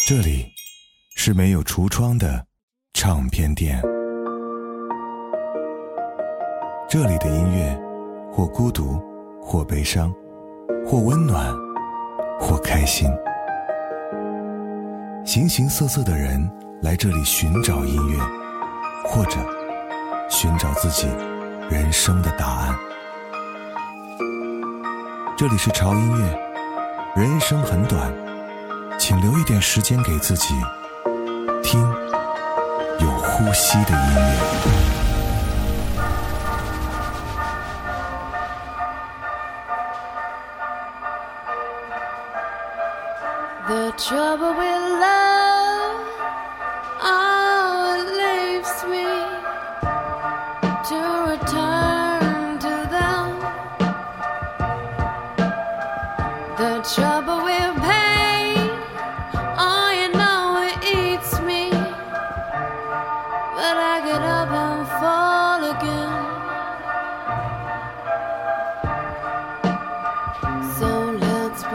这里是没有橱窗的唱片店，这里的音乐或孤独，或悲伤，或温暖，或开心。形形色色的人来这里寻找音乐，或者寻找自己人生的答案。这里是潮音乐，人生很短，请留一点时间给自己，听有呼吸的音乐。 The trouble with love, oh, it leaves me to return to them. The trouble with pain, oh, you know it eats me, but I get up and fall again. So let's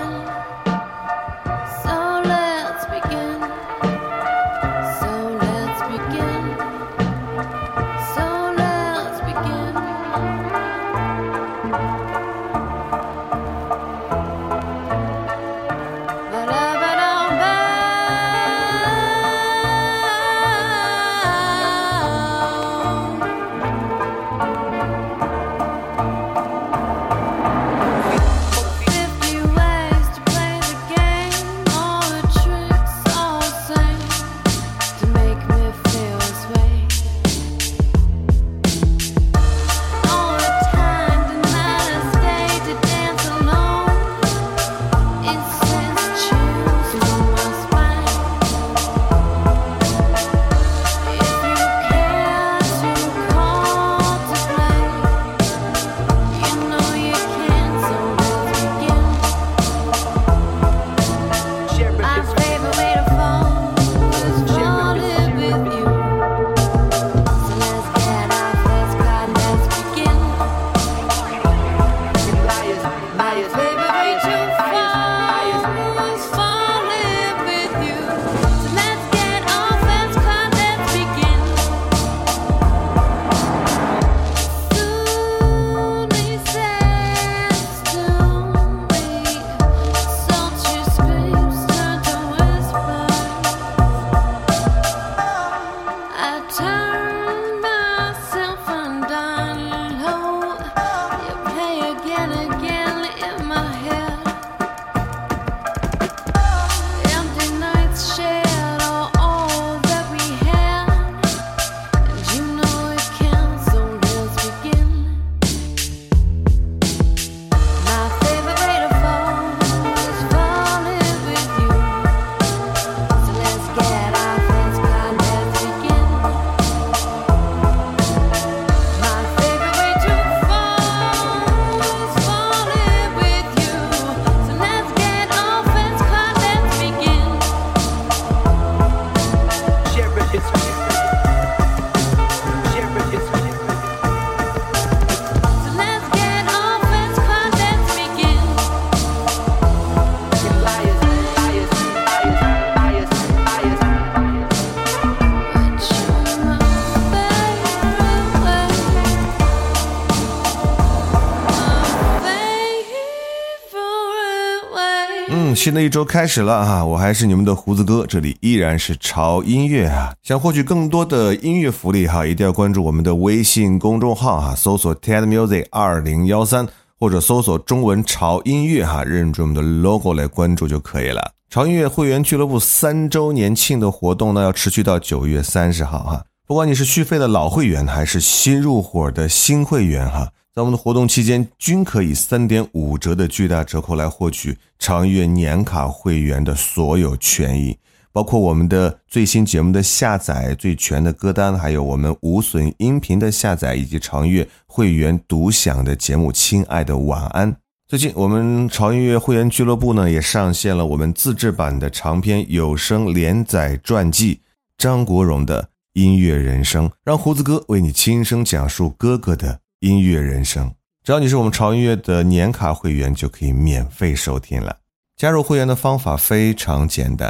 begin.新的一周开始了啊！我还是你们的胡子哥，这里依然是潮音乐啊！想获取更多的音乐福利哈，一定要关注我们的微信公众号哈，搜索 TEDmusic2013 或者搜索中文潮音乐哈，认准我们的 logo 来关注就可以了。潮音乐会员俱乐部3周年庆的活动呢，要持续到9月30号哈。不管你是续费的老会员还是新入伙的新会员哈，在我们的活动期间均可以 3.5 折的巨大折扣来获取潮音乐年卡会员的所有权益，包括我们的最新节目的下载、最全的歌单，还有我们无损音频的下载，以及潮音乐会员独享的节目《亲爱的晚安》。最近我们潮音乐会员俱乐部呢也上线了我们自制版的长篇有声连载传记张国荣的音乐人生，让胡子哥为你亲声讲述哥哥的音乐人生。只要你是我们潮音乐的年卡会员，就可以免费收听了。加入会员的方法非常简单，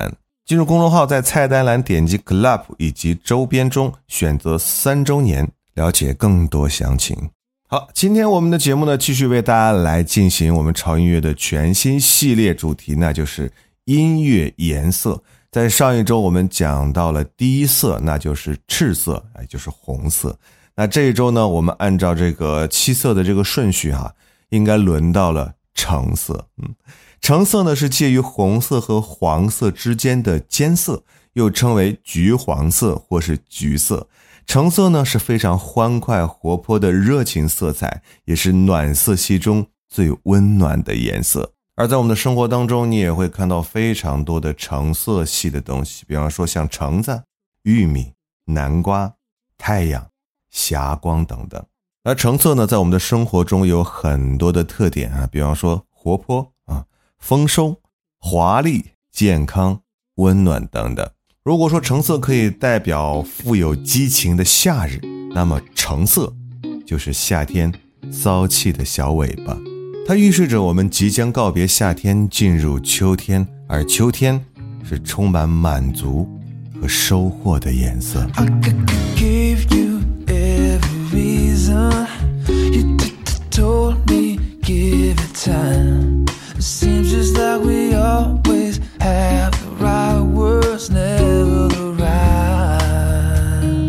进入公众号，在菜单栏点击 Club 以及周边中选择3周年，了解更多详情。好，今天我们的节目呢，继续为大家来进行我们潮音乐的全新系列主题，那就是音乐颜色。在上一周我们讲到了第一色，那就是赤色，也就是红色。那这一周呢，我们按照这个7色的这个顺序应该轮到了橙色。橙色呢是介于红色和黄色之间的间色，又称为橘黄色或是橘色。橙色呢是非常欢快活泼的热情色彩，也是暖色系中最温暖的颜色。而在我们的生活当中，你也会看到非常多的橙色系的东西，比方说像橙子、玉米、南瓜、太阳、霞光等等。而橙色呢，在我们的生活中有很多的特点比方说活泼丰收、华丽、健康、温暖等等。如果说橙色可以代表富有激情的夏日，那么橙色就是夏天骚气的小尾巴，它预示着我们即将告别夏天，进入秋天，而秋天是充满满足和收获的颜色。 Seems just like we always have the right words, never the right.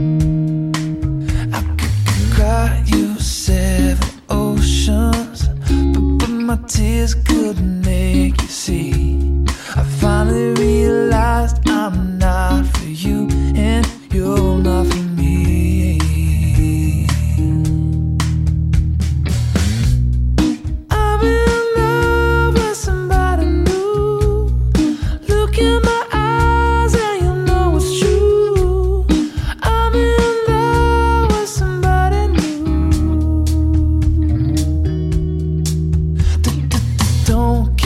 I could cry you 7 oceans, but my tears couldn't make you see. I finally realized I'm not for you and you're not for me. Don't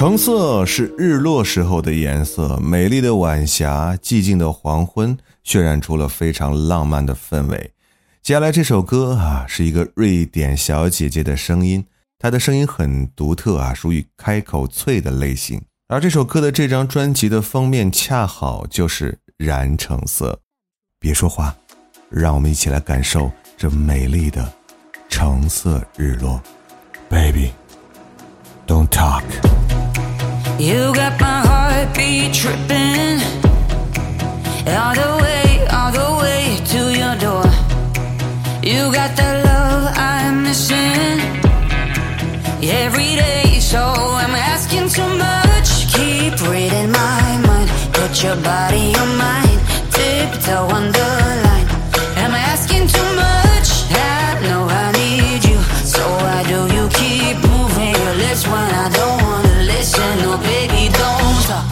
橙色是日落时候的颜色，美丽的晚霞，寂静的黄昏，渲染出了非常浪漫的氛围。接下来这首歌是一个瑞典小姐姐的声音，她的声音很独特属于开口脆的类型。而这首歌的这张专辑的封面恰好就是燃橙色。别说话，让我们一起来感受这美丽的橙色日落。 Baby, don't talk. You got my heartbeat tripping all the way to your door. You got that love I'm missing every day, so I'm asking too much. Keep reading my mind, put your body on mine, tiptoe on the line. Am I asking too much? I know I need you, so why do you keep moving your lips when I don't wanna listen? No, baby, don't talk.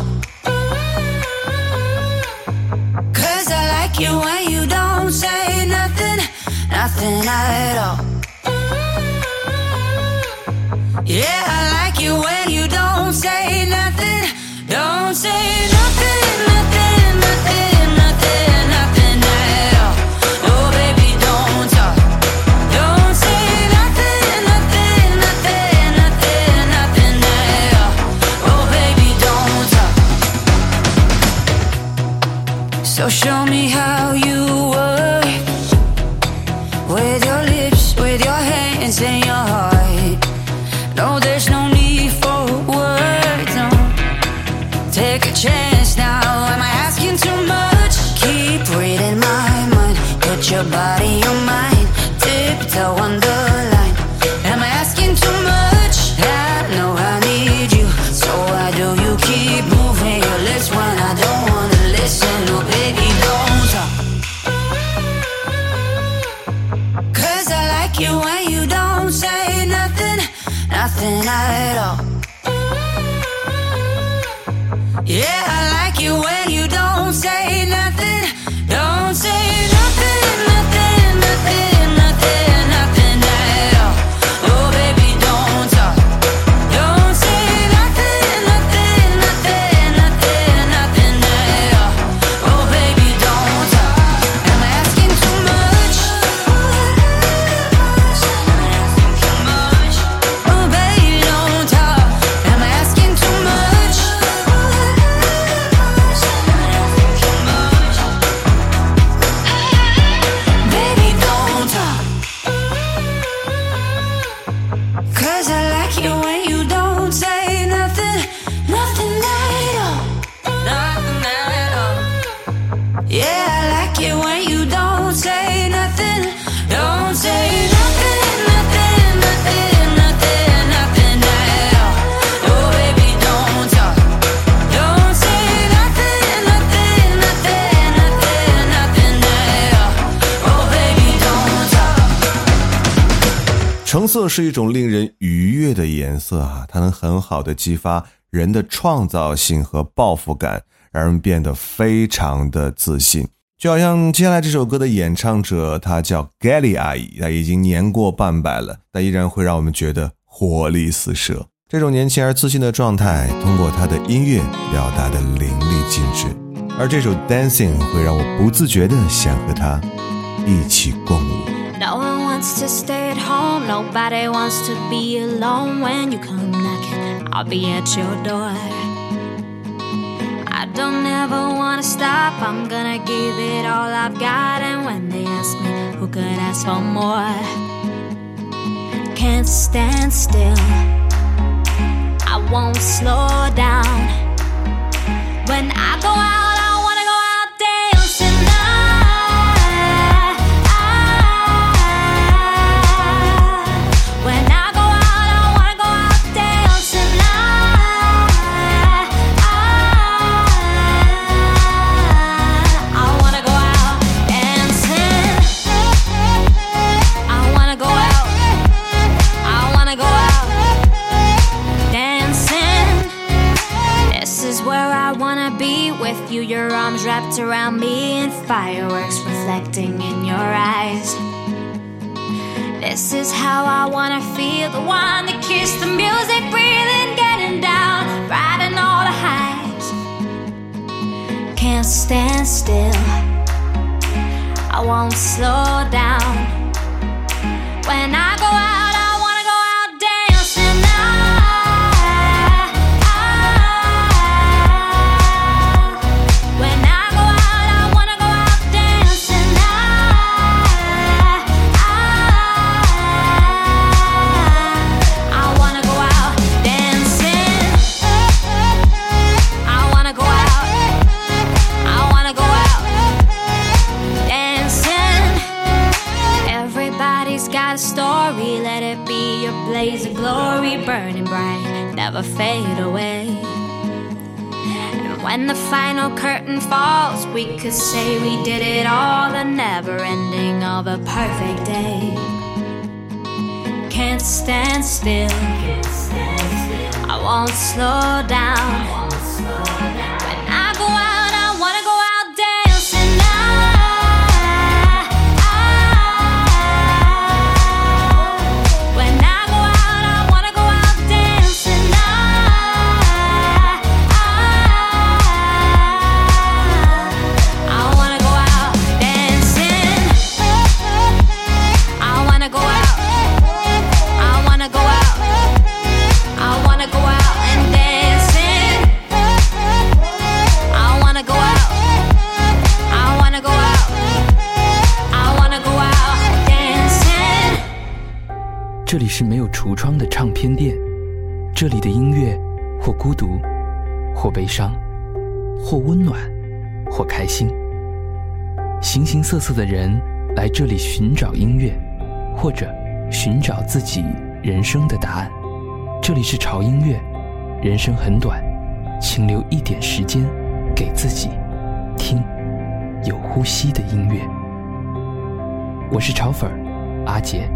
'Cause I like you when you don't say nothing, nothing at all. Yeah, I like you when you don't say nothing, don't say nothing, nothing, nothing, nothing, nothing at all. Oh, baby, don't talk. Don't say nothing, nothing, nothing, nothing, nothing at all. Oh, baby, don't talk. So show me how you work with your lips, with your hands and your heart. No, there's no need for words, no. Take a chance now, am I asking too much? Keep reading my mind, put your body on mine, tiptoe on the line. Am I asking too much? I know I need you, so why do you keep moving your lips when I don't wanna listen? No, baby, don't talk. 'Cause I like you when you don't say nothing, nothing at all. Yeah, I like you when you don't say nothing, don't say nothing, nothing, nothing, nothing, nothing at all. Oh, baby, don't talk. Don't say nothing, nothing, nothing, nothing, nothing at all. Oh, baby, don't talk. Am I asking too much? Oh, baby, don't talk. Am I asking too much? Baby, don't talk. 'Cause I like you when you don't say nothing, nothing at all, nothing at all. Yeah, I like it when you don't say nothing, don't say nothing, nothing, nothing, nothing, nothing at all. Oh, baby, don't talk. Don't say nothing, nothing, nothing, nothing, nothing at all. Oh, baby, don't talk. 橙色是一种令人愉悦的颜色它能很好的激发人的创造性和抱负感，让人变得非常的自信。就好像接下来这首歌的演唱者，她叫 Gelly 阿姨，她已经年过半百了，但依然会让我们觉得活力四射。这种年轻而自信的状态，通过她的音乐表达的淋漓尽致。而这首 Dancing 会让我不自觉的想和她一起共舞。 No one wants to stay at home, nobody wants to be alone. When you come knocking, I'll be at your door. I don't ever wanna stop, I'm gonna give it all I've got. And when they ask me who could ask for more, can't stand still, I won't slow down. When I go out, I wanna go out dancing now. When I go out, I wanna go out dancing now. I wanna go out dancing. I wanna go out. I wanna go out dancing. This is where I wanna be with you. Your arms wrapped around me and fireworks reflecting in your eyes. This is how I wanna feel, the one that keeps the music breathing, getting down, can't stand still. I won't slow down. When I go out, I wanna go out dancing. When I go out, I wanna go out dancing. I wanna go out dancing. I wanna go out. I wanna go out dancing. Everybody's got a story. Let it be your blaze of glory, burning bright, never fade away. And when the final curtain falls, we could say we did it all. The never ending of a perfect day. Can't stand still. I won't slow down. When I go out, I wanna go out dancing. When I go out, I wanna go out dancing. I wanna go out dancing. I wanna go out. I wanna go out. I wanna go out and dancing. I wanna go out. I wanna go out. I wanna go out dancing. 这里是没有橱窗的唱片店，这里的音乐或孤独，或悲伤，或温暖，或开心。形形色色的人来这里寻找音乐，或者寻找自己人生的答案。这里是潮音乐，人生很短，请留一点时间给自己，听有呼吸的音乐。我是潮粉阿杰。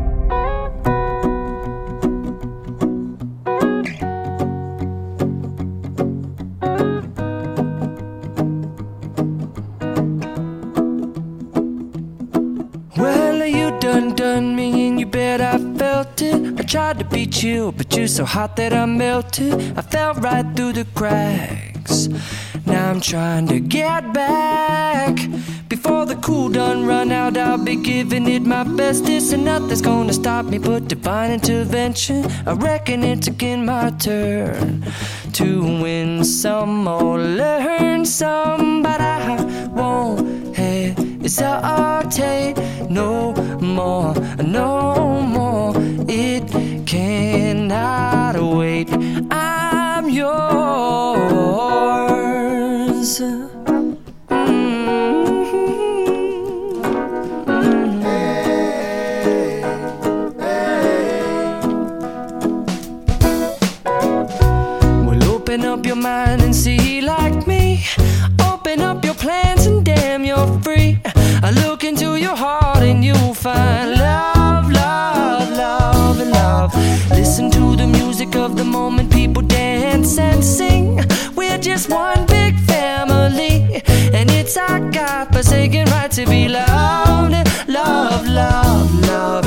Well, you done me and you bet I felt it. I tried to beat you, but you're so hot that I melted. I fell right through the cracks. Now I'm trying to get back. Before the cool done run out, I'll be giving it my bestest. And nothing's gonna stop me but divine intervention. I reckon it's again my turn to win some or learn some. But I won't hesitate no more, no more. It cannot wait. I'm yours. Well, open up your mind and see like me. Open up your plans and damn, you're free. I look into your heart and you'll find love, love, love, and love. Listen to the music of the moment, people dance and sing. We're just one big family, and it's our God-forsaken right to be loved, love, love, love,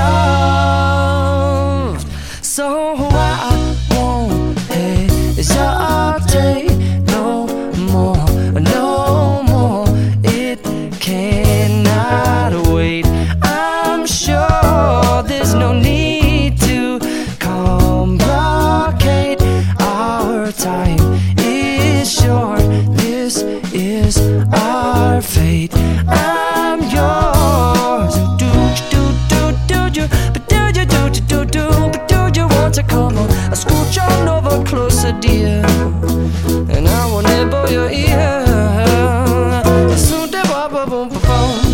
loved. So I won't hesitate no more, no more. It cannot wait. I'm sure there's no need to complicate. Our time is short. This is our fate. I'm yours. Do you, but do you, but do you want to come on? I scooch on over closer, dear, and I will nibble your ear. Soon to boom, boom, boom, boom.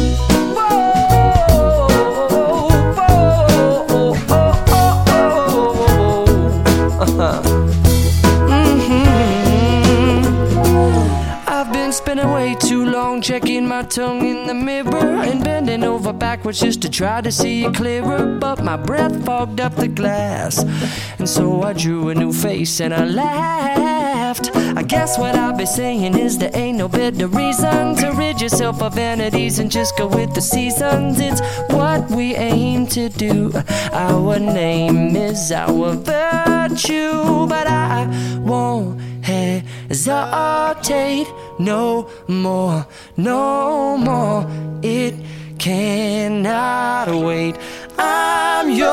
I've been spinning way too long, checking my tongue in the mirror and bending over backwards just to try to see it clearer. But my breath fogged up the glass, and so I drew a new face and I laughed. I guess what I'll be saying is there ain't no better reason to rid yourself of vanities and just go with the seasons. It's what we aim to do. Our name is our virtue, but I won't hesitate no more, no more. It cannot wait. I'm yours.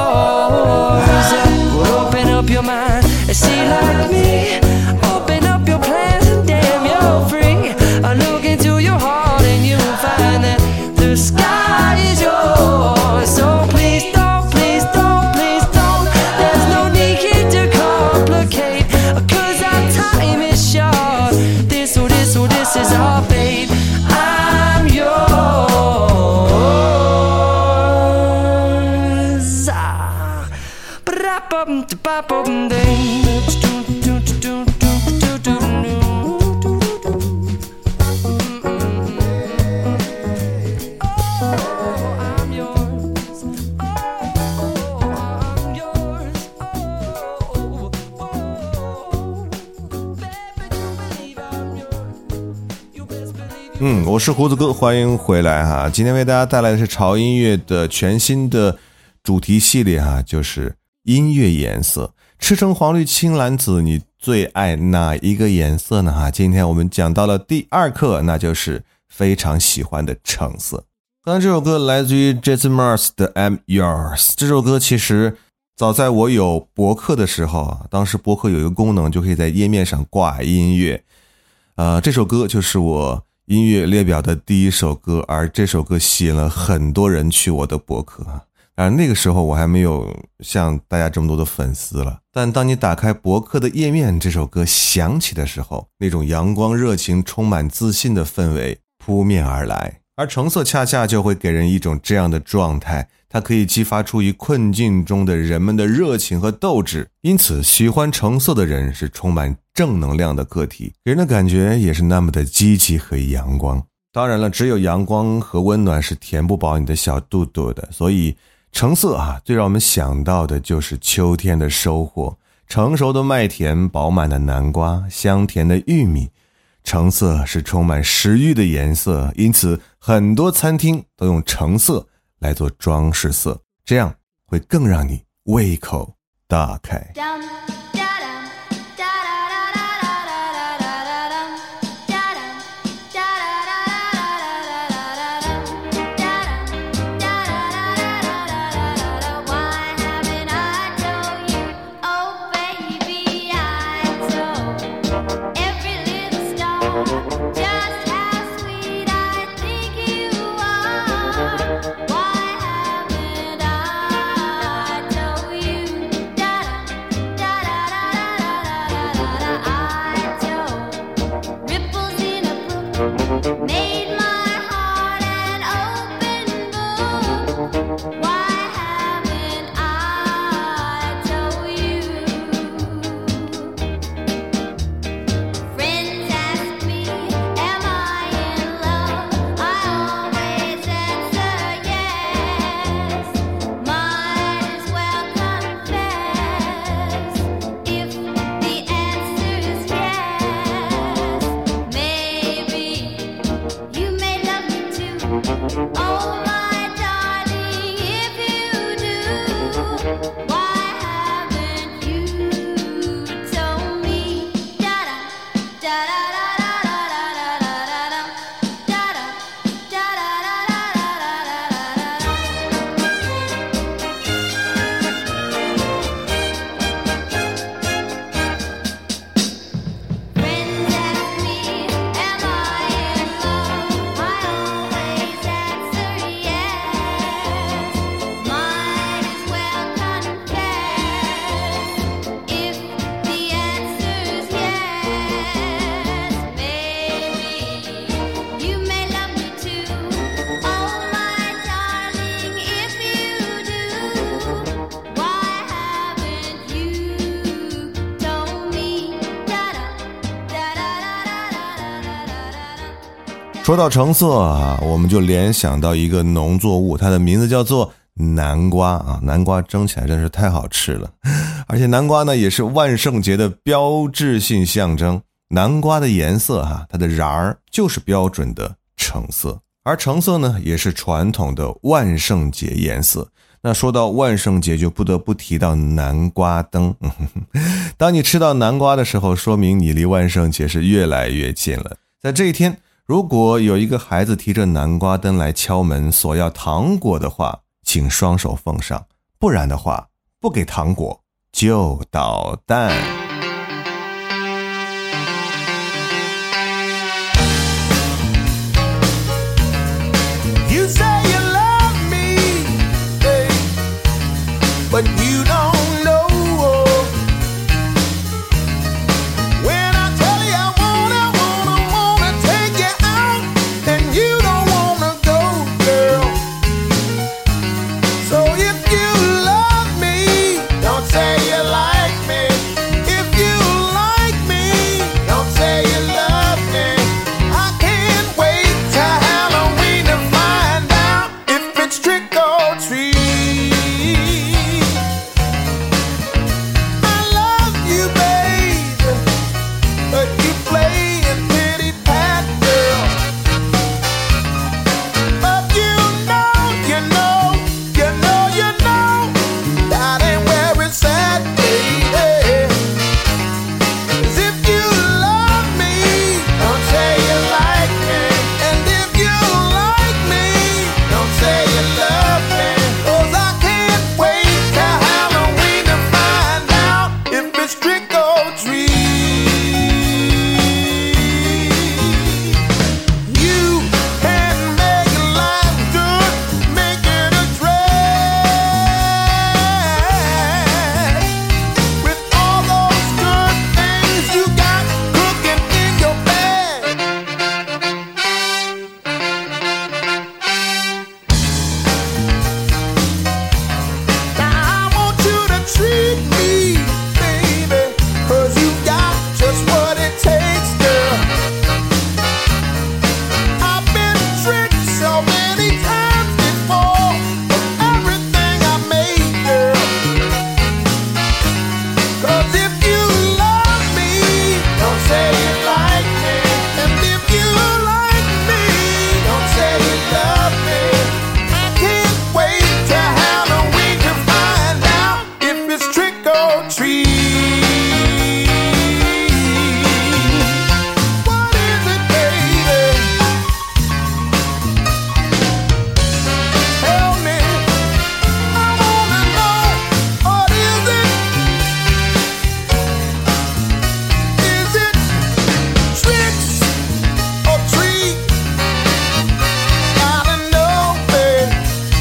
Open up your mind and see like me. Open up your plans and damn, you're free. I look into your heart and you'll find that the sky is yours. So please don't, please don't, please don't. There's no need here to complicate, 'cause our time is short. This is our fate. I'm yours. 我是胡子哥，欢迎回来哈。今天为大家带来的是潮音乐的全新的主题系列哈，就是音乐颜色。赤橙黄绿青蓝紫，你最爱哪一个颜色呢哈？今天我们讲到了第2课，那就是非常喜欢的橙色。刚才这首歌来自于 Jason Mraz 的 I'm Yours。这首歌其实早在我有博客的时候啊，当时博客有一个功能，就可以在页面上挂音乐。这首歌就是我音乐列表的第1首歌，而这首歌吸引了很多人去我的博客。当然那个时候我还没有像大家这么多的粉丝了，但当你打开博客的页面，这首歌响起的时候，那种阳光热情充满自信的氛围扑面而来。而橙色恰恰就会给人一种这样的状态，它可以激发出于困境中的人们的热情和斗志，因此喜欢橙色的人是充满正能量的个体，给人的感觉也是那么的积极和阳光。当然了，只有阳光和温暖是填不饱你的小肚肚的，所以橙色最让我们想到的就是秋天的收获，成熟的麦田，饱满的南瓜，香甜的玉米。橙色是充满食欲的颜色，因此很多餐厅都用橙色来做装饰色，这样会更让你胃口大开。说到橙色我们就联想到一个农作物，它的名字叫做南瓜南瓜蒸起来真是太好吃了，而且南瓜呢也是万圣节的标志性象征。南瓜的颜色它的瓤儿就是标准的橙色，而橙色呢也是传统的万圣节颜色。 那说到万圣节就不得不提到南瓜灯。当你吃到南瓜的时候，说明你离万圣节是越来越近了。在这一天，如果有一个孩子提着南瓜灯来敲门索要糖果的话，请双手奉上，不然的话不给糖果就捣蛋。 You say you love me, but you don't know. When I tell you I wanna take you out, and you don't wanna go, girl. So if you love me, don't say you like me. If you like me, don't say you love me. I can't wait till Halloween to find out if it's trick or treat. I love you, baby, but you playing pity pat, girl. But you know that ain't where it's at, baby. 'Cause if you love me, don't say you like me. And if you like me, don't say you love me. 'Cause I can't wait till Halloween to find out if it's trick or treat. You can make life good, make it a drag. With all those good things you got cooking in your bag. Now I want you to treat me, baby, 'cause you got just what it takes, girl. I've been tricked so many times before of everything I made, girl. 'Cause if you love me, don't say you like me. And if you like me, don't say you love me. I can't wait till Halloween to find out if it's trick or treat. What is it, baby? Tell me, I wanna know. What is it? Is it tricks or treat? Gotta know, babe.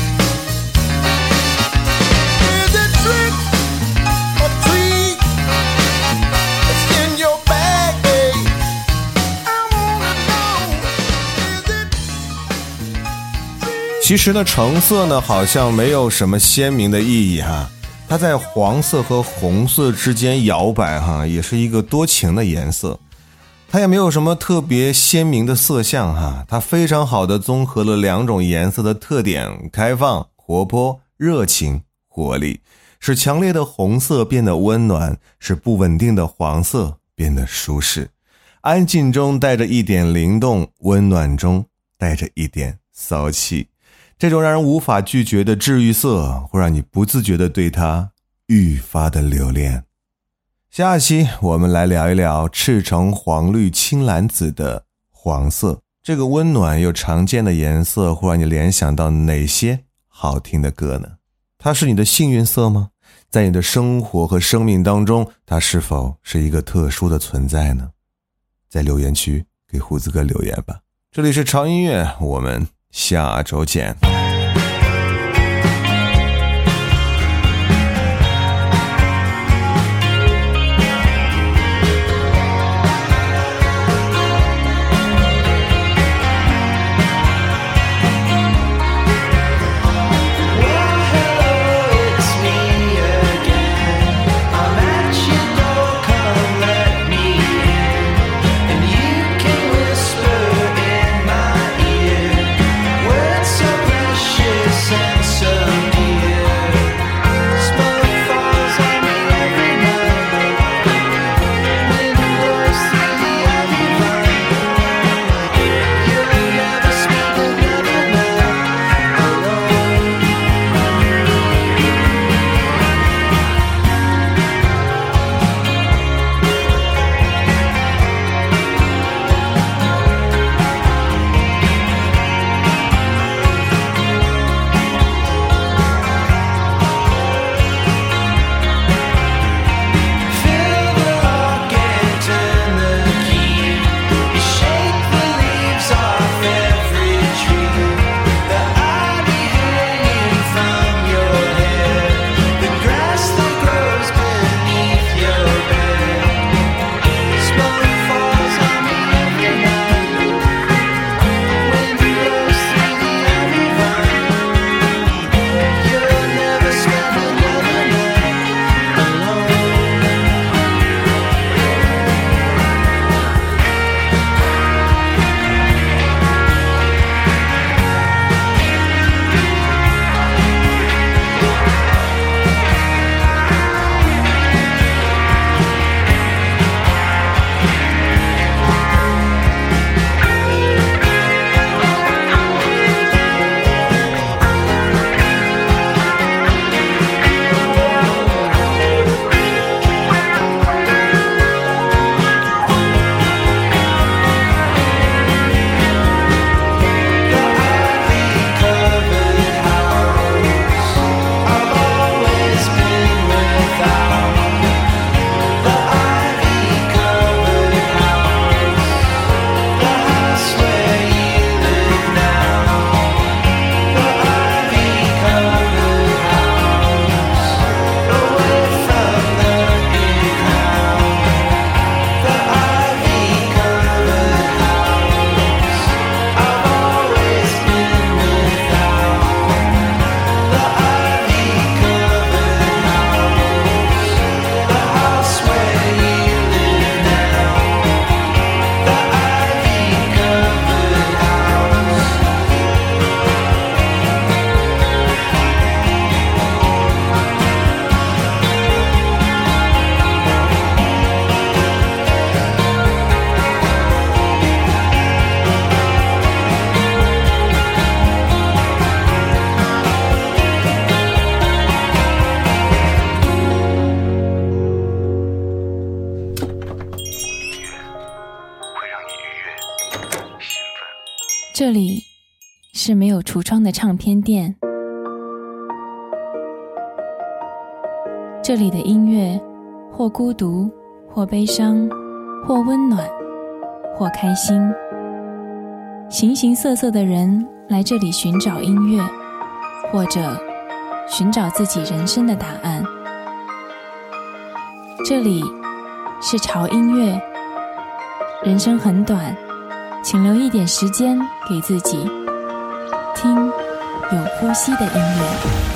Is it tricks or treat? It's in your bag, babe. I wanna know. Is it treat? 其实呢，橙色呢好像没有什么鲜明的意义哈，它在黄色和红色之间摇摆哈，也是一个多情的颜色。它也没有什么特别鲜明的色相哈，它非常好的综合了两种颜色的特点：开放、活泼、热情、活力，使强烈的红色变得温暖，使不稳定的黄色变得舒适。安静中带着一点灵动，温暖中带着一点骚气。这种让人无法拒绝的治愈色，会让你不自觉地对它愈发的留恋。下期我们来聊一聊赤橙黄绿青蓝紫的黄色，这个温暖又常见的颜色会让你联想到哪些好听的歌呢？它是你的幸运色吗？在你的生活和生命当中，它是否是一个特殊的存在呢？在留言区给胡子哥留言吧。这里是潮音乐，我们下周见。 Precious 这里是没有橱窗的唱片店，这里的音乐或孤独，或悲伤，或温暖，或开心。形形色色的人来这里寻找音乐，或者寻找自己人生的答案。这里是潮音乐，人生很短，请留一点时间给自己，听有呼吸的音乐。